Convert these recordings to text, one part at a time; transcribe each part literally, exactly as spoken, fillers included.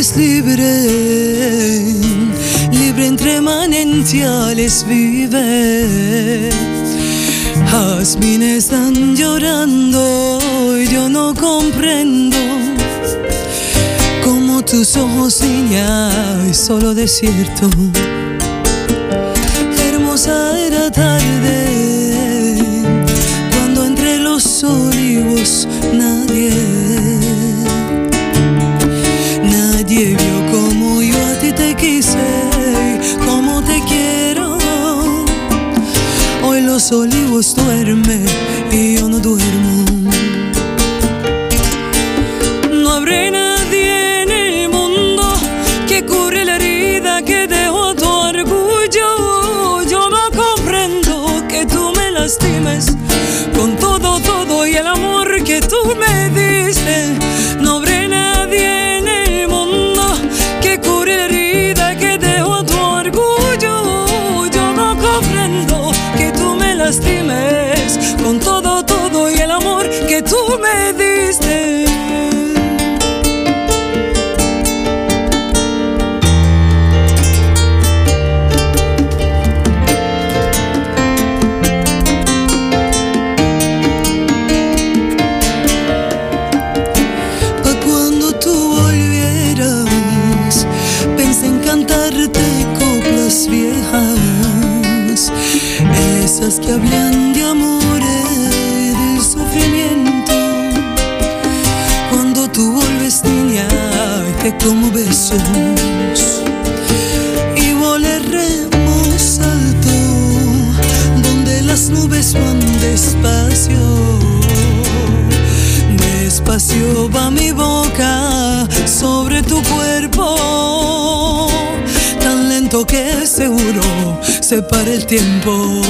eres libre, libre entre manantiales vive. Jazmines están llorando y yo no comprendo cómo tus ojos, niña, y solo desierto. Hermosa era tarde cuando entre los olivos nadie, nadie vio como yo a ti te quise, como te quiero. Hoy los olivos duermen y yo no duermo. No habrá nadie en el mundo que cure la herida que dejó tu orgullo. Yo no comprendo que tú me lastimes con todo, todo y el amor que tú me diste. No habrá nadie en el mundo que cure la herida que dejó tu orgullo. Yo no comprendo que tú me lastimes con todo, todo y el amor que tú me diste. Pa' cuando tú volvieras, pensé en cantarte coplas viejas, esas que hablan de amor y del sufrimiento. Cuando tú vuelves, niña, te como besos y volaremos alto donde las nubes van despacio. Despacio va mi boca sobre tu cuerpo, tan lento que seguro se para el tiempo.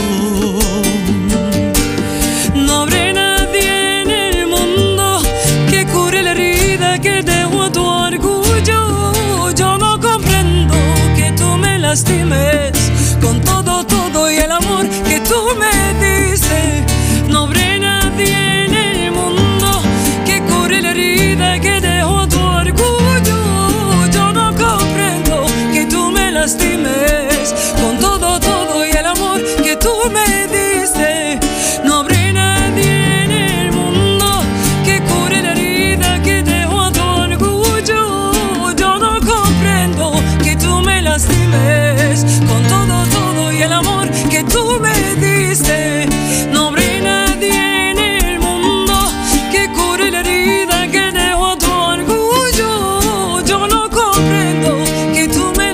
No habrá nadie en el mundo que cure la herida que dejó tu orgullo. Yo no comprendo que tú me lastimes con todo, todo y el amor que tú me diste. No habrá nadie en el mundo que cure la herida que dejó tu orgullo. Yo no comprendo que tú me lastimes con todo, todo y el amor que tú me diste. No habrá nadie en el mundo que cure la herida que dejó tu orgullo. Yo no comprendo que tú me lastimes con todo, todo y el amor que tú me diste. No habrá nadie en el mundo que cure la herida que dejó tu orgullo. Yo no comprendo que tú me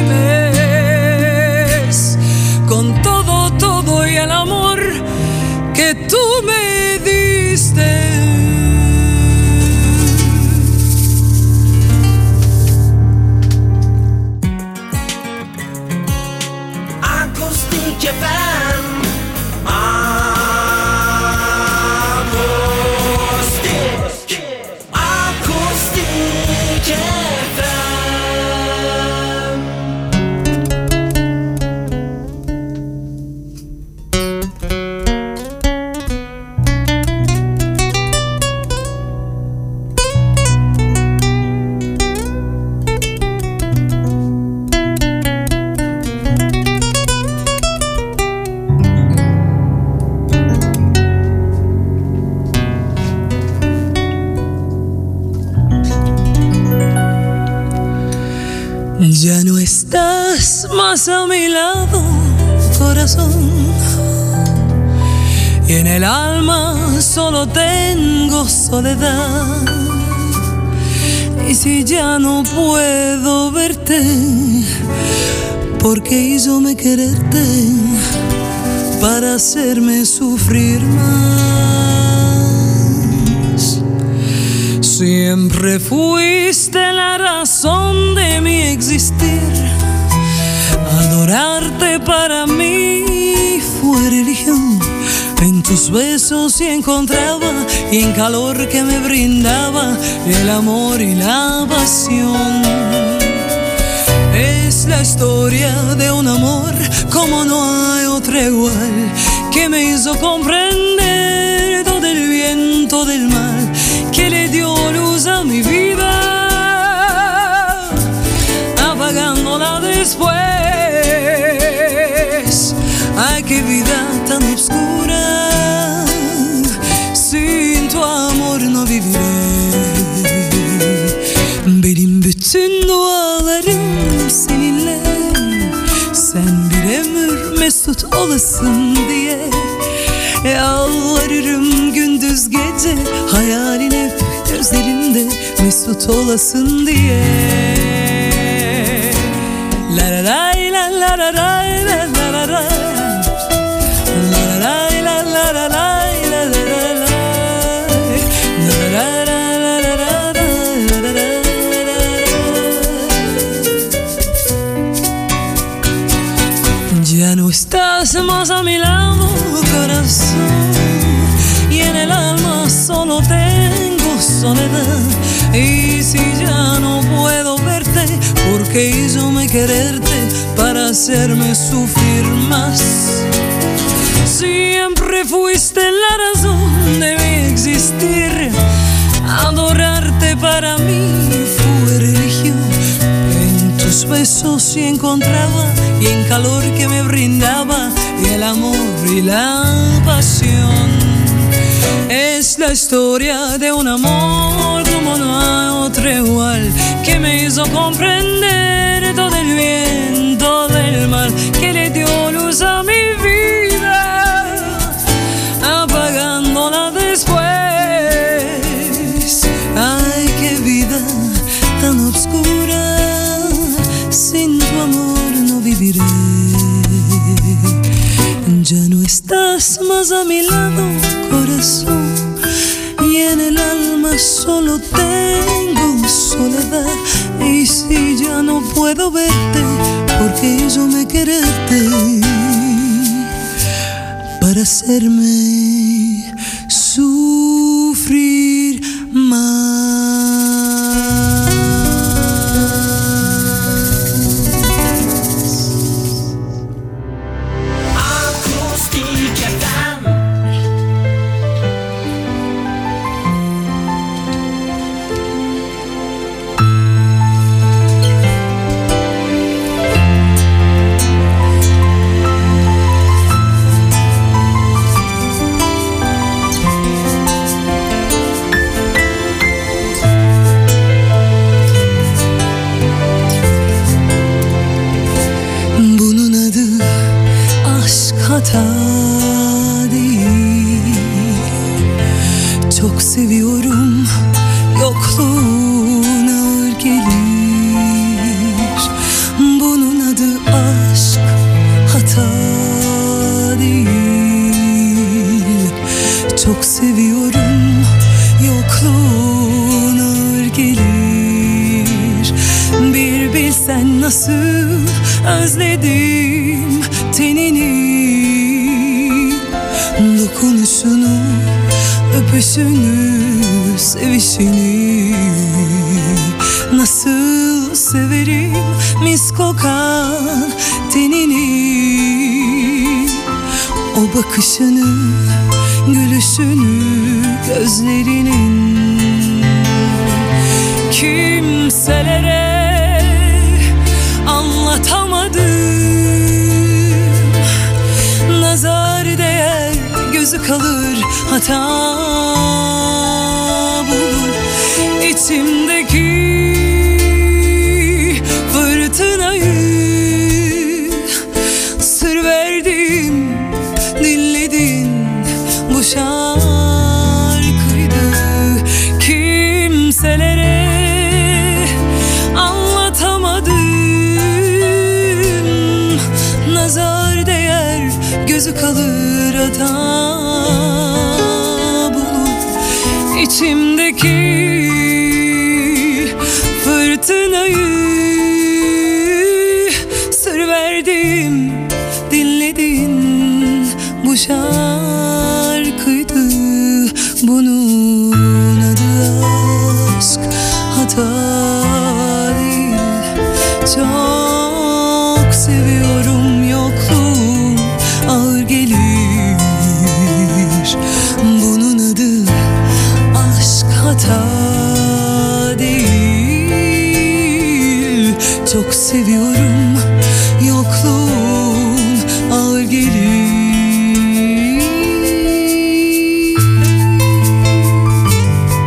lastimes con todo, todo y el amor que tú me diste. Acoustic F M. Acoustic. Acoustic F M. Ya no estás más a mi lado, corazón, y en el alma solo tengo soledad. Y si ya no puedo verte, ¿por qué hizome quererte para hacerme sufrir más? Siempre fuiste la razón de mi existir. Adorarte para mí fue religión. En tus besos sí encontraba, y en calor que me brindaba, el amor y la pasión. Es la historia de un amor como no hay otra igual, que me hizo comprender todo el viento del mal, que le dio luz a mi vida. no viviré. Benim bütün dualarım seninle, sen bir ömür mesut olasın diye. Yalvarırım gündüz gece, hayalin hep gözlerimde, mesut olasın diye. La la la la la la la la la la. Ya no estás más a mi lado, corazón, y en el alma solo tengo soledad. Y si ya no puedo verte, ¿por qué hizo me quererte para hacerme sufrir más? Siempre fuiste la razón de mi existir, adorarte para mí fue religión. En tus besos sí encontraba, y en calor que me brindaba, y el amor y la pasión. Es la historia de un amor como no hay otro igual, que me hizo comprender todo el bien, todo el mal, que le dio luz a mi vida, apagándola después. Ay, qué vida tan oscura, sin tu amor no viviré. Ya no estás más a mi lado, corazón, y en el alma solo tengo soledad. Y si ya no puedo verte, porque hizo me quererte para hacerme sufrir más. Hata değil, çok seviyorum, yokluğun ağır gelir. Bunun adı aşk, hata değil. Çok seviyorum, yokluğun ağır gelir. Bir bilsen nasıl özledim tenini, dokunuşunu, öpüşünü, sevişini. Nasıl severim mis kokan tenini, o bakışını, gülüşünü, gözlerinin. Kimselere anlatamadım, nazar değer, gözü kalır, hata bulur. İçimdeki fırtınayı sır verdim, dinledin, bu şarkıydı. Kimselere anlatamadım, nazar değer, gözü kalır, hata bulur. İçimdeki fırtınayı sır verdim, dinledin, bu şarkıydı. Bunun adı aşk, hata değil. Çok seviyorum, yokluğum ağır gelir. Bunun adı aşk, hata değil. Çok seviyorum, yokluğun ağır gelir.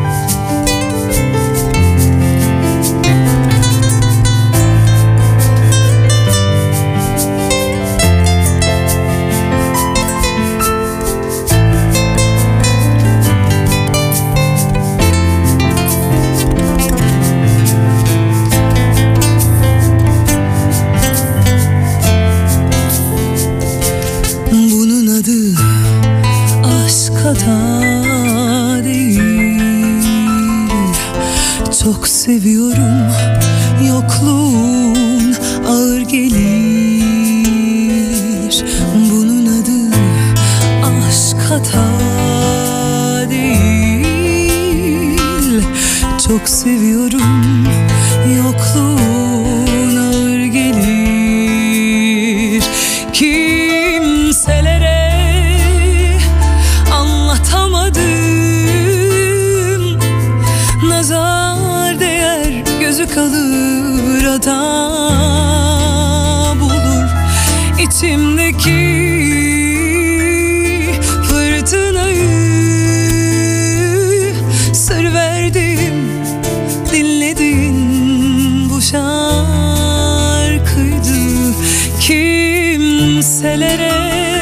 Çok seviyorum, yokluğun ağır gelir. Bunun adı aşk, hata değil. Çok seviyorum, yokluğun ağır gelir. Kimselere anlatamadım, nazar değer, gözü kalır, hata bulur. İçimdeki fırtınayı sır verdim, dinledin bu şarkıydı. Kimselere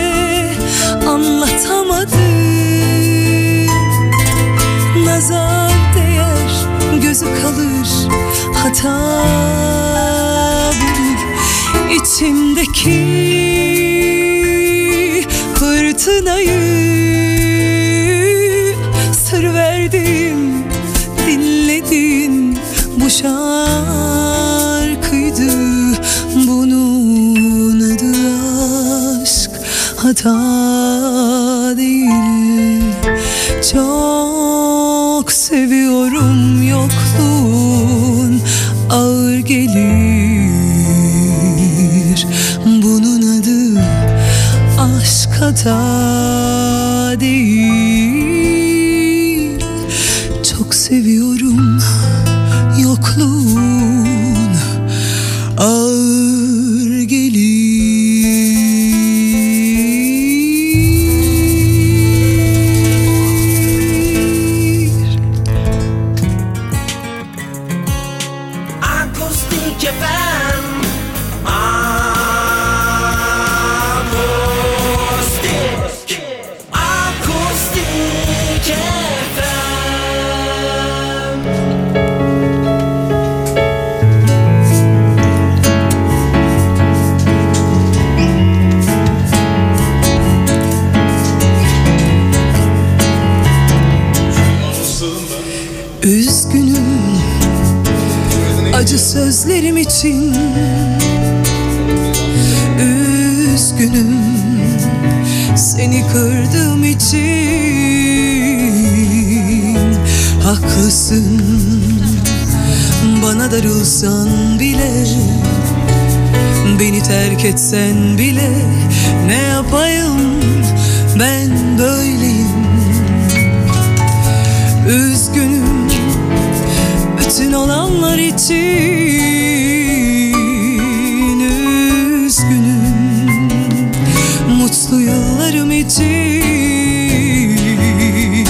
anlatamadım, nazar değer, gözü kalır, hata bulur. İçimdeki fırtınayı sır verdim, dinledin bu şarkıydı. Bunun adı aşk, hata değil. Çok seviyorum, yokluğun ağır gelir. Bunun adı aşk, hata değil. Çok seviyorum, yokluğun ağır gelir. Akustik F M. Akustik. Akustik F M. Üzgünüm acı sözlerim için, üzgünüm seni kırdığım için. Haklısın, bana darılsan bile, beni terk etsen bile, ne yapayım ben böyleyim. Üzgünüm bütün olanlar için, üzgünüm mutlu yıllarım için.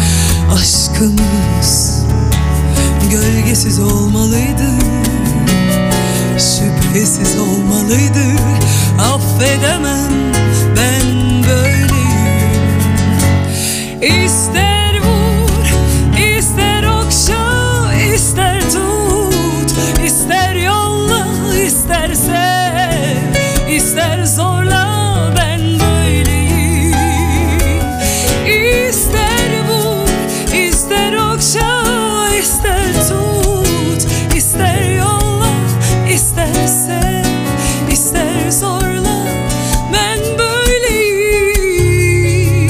Aşkımız gölgesiz olmalıydı, şüphesiz olmalıydı. Affedemem ben böyleyim. İster vur, ister okşa, ister tut, ister yolla, ister sev, ister zorla, ben böyleyim. İster vur, ister okşa, ister tut, ister yolla, ister sev, ister zorla, ben böyleyim.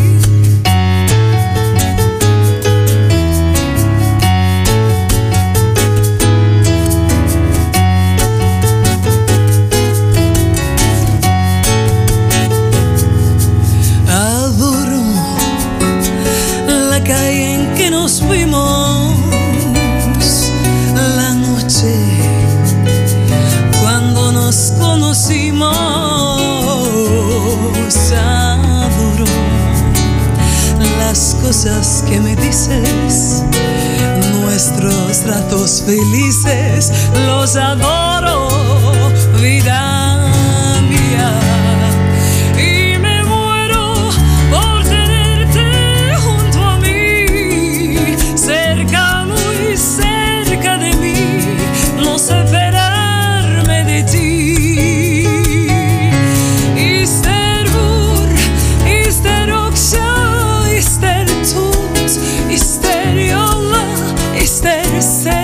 Adoro la calle en que nos fuimos, la noche cuando nos conocimos. Adoro las cosas que me dices, nuestros ratos felices, los adoro, vida mía. Y me muero por tenerte junto a mí, cerca, muy cerca de mí, no separarme de ti. İster vur, ister okşa, ister tut, ister yolla, ister sev,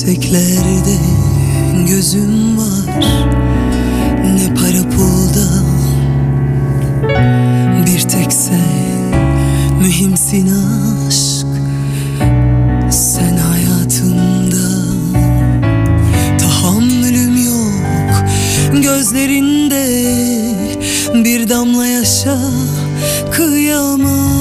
yükseklerde gözüm var, ne para pulda. Bir tek sen mühimsin aşk, sen hayatımda. Tahammülüm yok gözlerinde, bir damla yaşa kıyamam.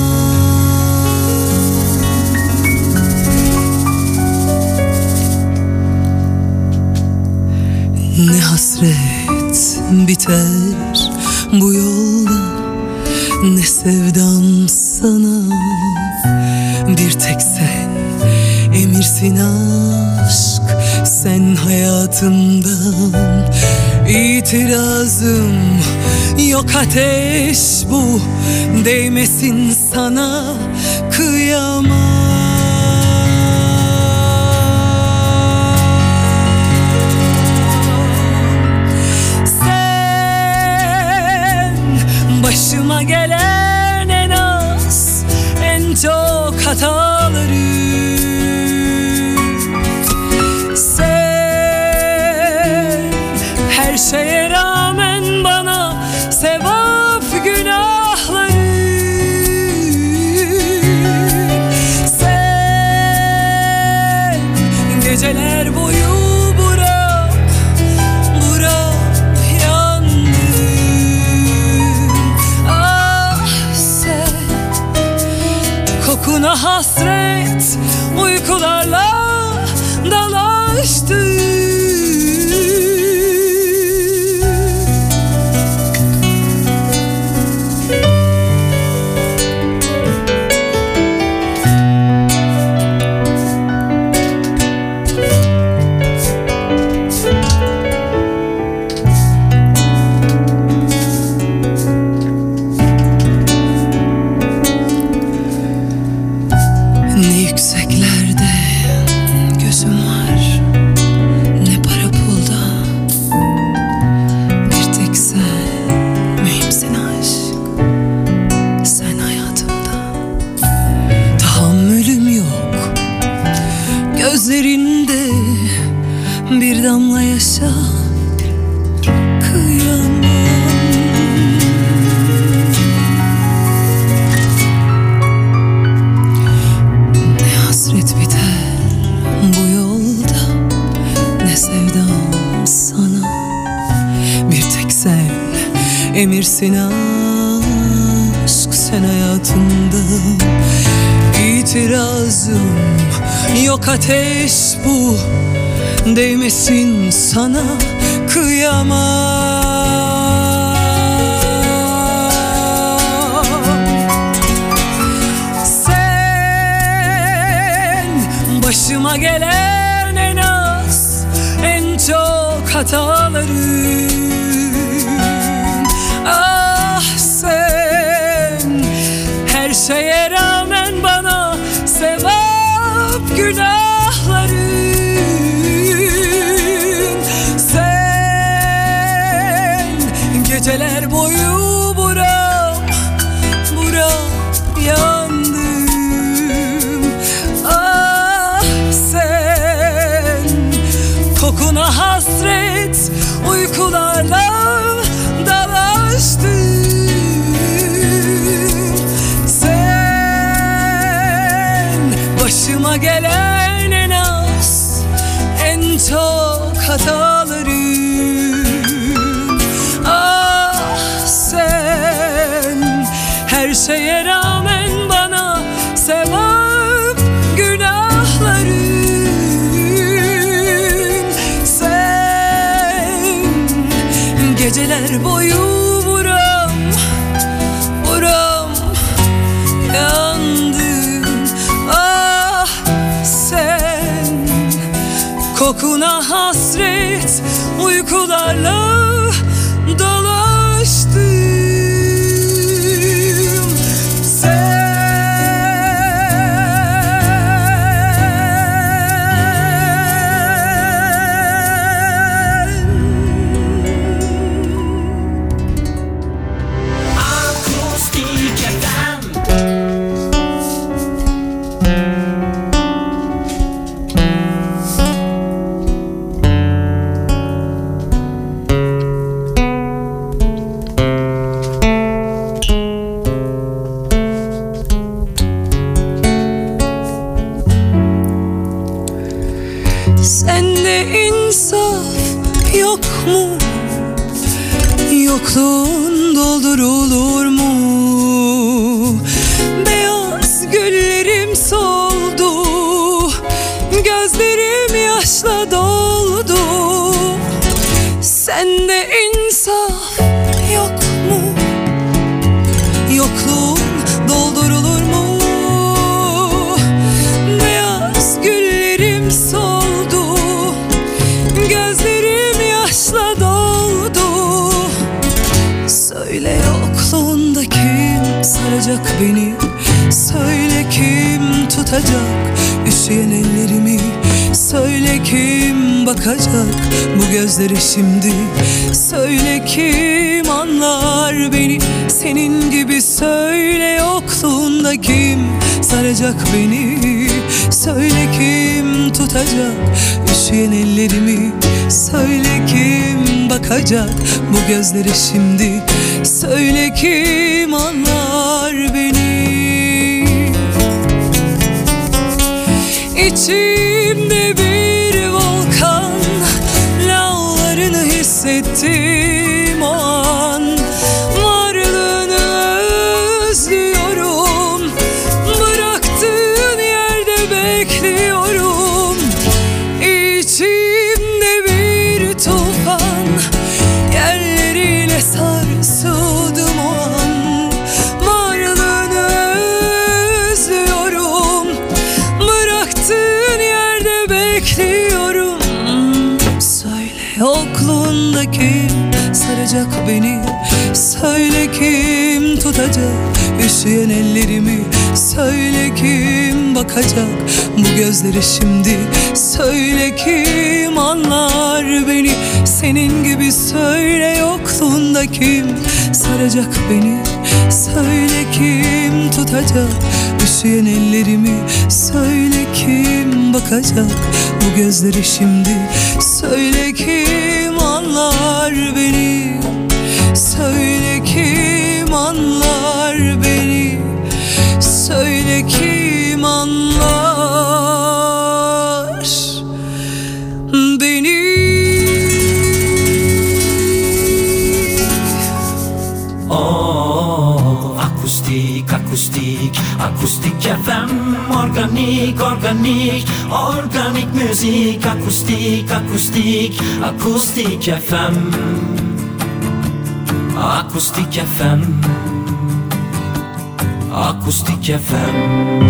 Ne hasret biter bu yolda, ne sevdam sana. Bir tek sen emirsin aşk, sen hayatımdan. İtirazım yok, ateş bu, değmesin sana kıyamam. Başıma gelen en az, en çok hataları. Sen her şeye rağmen bana sevap günahları. Sen geceler boyu bura bura kokuna hasret, uykularla dalaştı. Yükseklerde gözüm var, ne para pulda. Bir tek sen mühimsin aşk, sen hayatımda. Tahammülüm yok gözlerinde, bir damla yaşa kıyamam. Hasret biter bu yolda, ne sevdam sana. Bir tek sen emirsin aşk, sen hayatımda. İtirazım yok, ateş bu, değmesin sana kıyamam. Başıma gelen en az, en çok hataları. Ah sen her şeye rağmen bana sevap günahları. Sen geceler boyu buram buram yandım. Kokuna hasret, uykularla dalaştım. Sen başıma gelen en az, en çok hatalarım. Ah sen her şeye rağmen bana sevap günahları. Geceler boyu buram buram yandım. Ah sen kokuna hasret, uykularla dolaştım. Sen Sende insaf yok mu? Yokluğun doldurulur mu? Beyaz güllerim soldu, gözlerim yaşla doldu. Sende insaf yok mu? Yokluğun doldurulur mu? Beyaz güllerim soldu, gözlerim yaşla doldu. Söyle yokluğunda kim saracak beni? Söyle kim tutacak üşüyen ellerimi? Söyle kim bakacak bu gözlere şimdi? Söyle kim anlar beni senin gibi? Söyle yokluğunda kim saracak beni? Söyle kim tutacak üşüyen ellerimi? Söyle kim bakacak bu gözlere şimdi? Söyle kim anlar beni? İçimde bir volkan, lavlarını hissettim o an. Varlığını özlüyorum, bıraktığın yerde bekliyorum. İçimde bir tufan, yerleriyle sarsıldım o an. Varlığını özlüyorum, bıraktığın yerde bekliyorum. Söyle yokluğunda kim saracak beni? Söyle kim tutacak üşüyen ellerimi? Söyle kim bakacak bu gözlere şimdi? Söyle kim anlar beni senin gibi? Söyle yokluğunda kim saracak beni? Söyle kim tutacak üşüyen ellerimi? Söyle kim bakacak bu gözlere şimdi? Söyle kim anlar beni? Söyle kim anlar beni? Söyle kim anlar beni? Oh, akustik, akustik, akustik F M. Organik, organik, organik müzik. Akustik, akustik, akustik F M. Akustik F M. Akustik F M.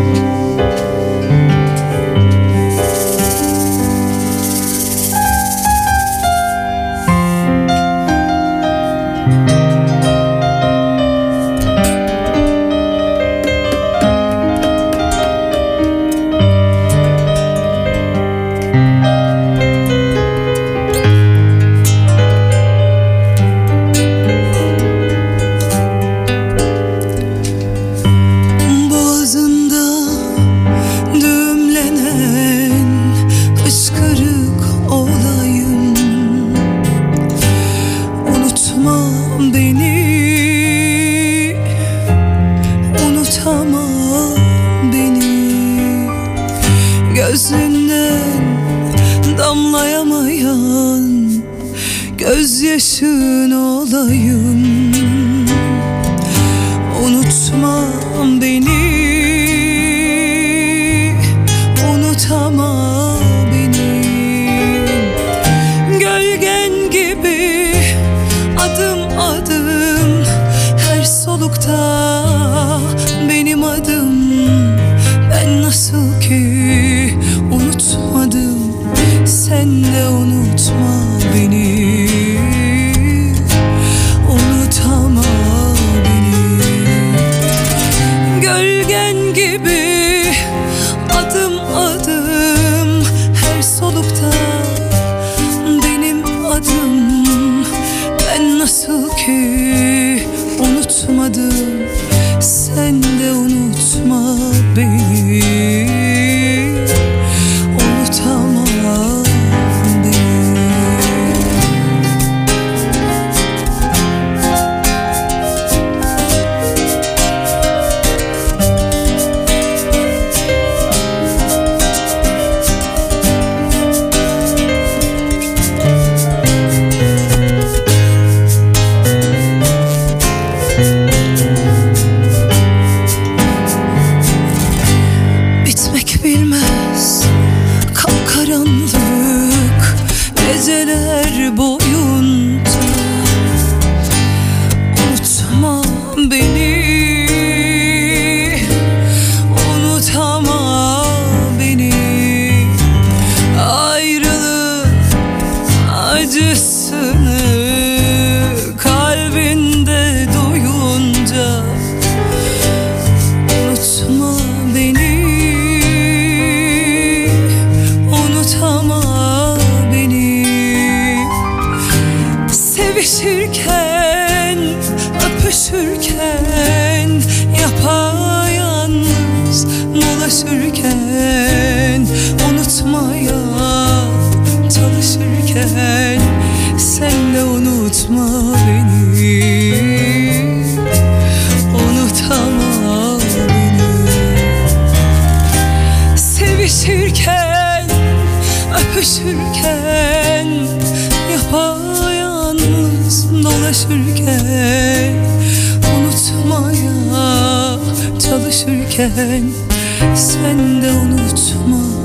Gözünden damlayamayan gözyaşın olayım. Unutma beni, unutama beni. Gölgen gibi adım adım her solukta benim adım. Ben nasıl ki unutmadım, sen de unutma beni. Unutama beni. Gölgen gibi adım adım her solukta benim adım. Ben nasıl ki unutmadım, sen de unutma beni. Unutama beni. geceler boyunca. Unutma beni, unutama beni. Ayrılık acısını kalbinde duyunca. Unutma beni, unutama beni. Sevişirken, öpüşürken, yapayalnız dolaşırken, unutmaya çalışırken, sen de unutma beni, unutama beni. Sevişirken, öpüşürken, yapayalnız dolaşırken, unutmaya çalışırken, sen de unutma